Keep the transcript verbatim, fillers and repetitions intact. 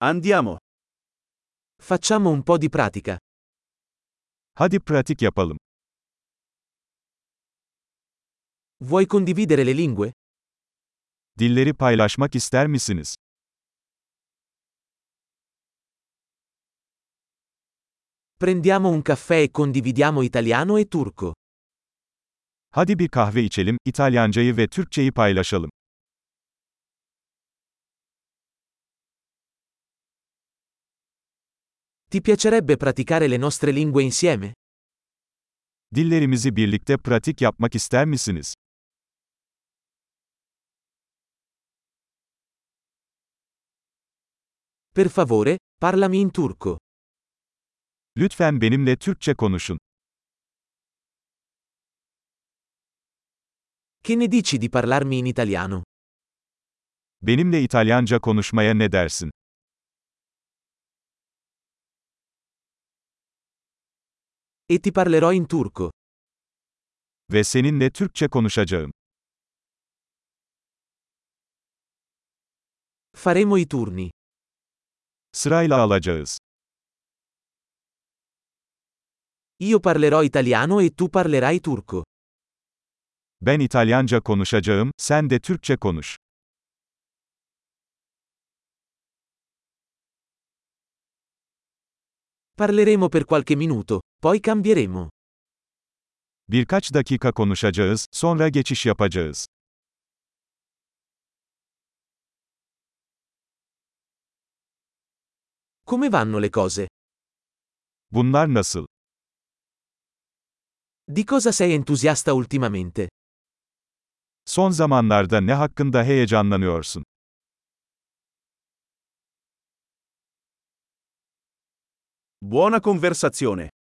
Andiamo. Facciamo un po' di pratica. Hadi pratik yapalım. Vuoi condividere le lingue? Dilleri paylaşmak ister misiniz? Prendiamo un caffè e condividiamo italiano e turco. Hadi bir kahve içelim, İtalyancayı ve Türkçeyi paylaşalım. Ti piacerebbe praticare le nostre lingue insieme? Dillerimizi birlikte pratik yapmak ister misiniz? Per favore, parlami in turco. Lütfen benimle Türkçe konuşun. Che ne dici di parlarmi in italiano? Benimle İtalyanca konuşmaya ne dersin? E ti parlerò in turco. Ve seninle Türkçe konuşacağım. Faremo i turni. Sırayla alacağız. Io parlerò italiano e tu parlerai turco. Ben İtalyanca konuşacağım, sen de Türkçe konuş. Parleremo per qualche minuto, poi cambieremo. Birkaç dakika konuşacağız, sonra geçiş yapacağız. Come vanno le cose? Bunlar nasıl? Di cosa sei entusiasta ultimamente? Son zamanlarda ne hakkında heyecanlanıyorsun? Buona conversazione.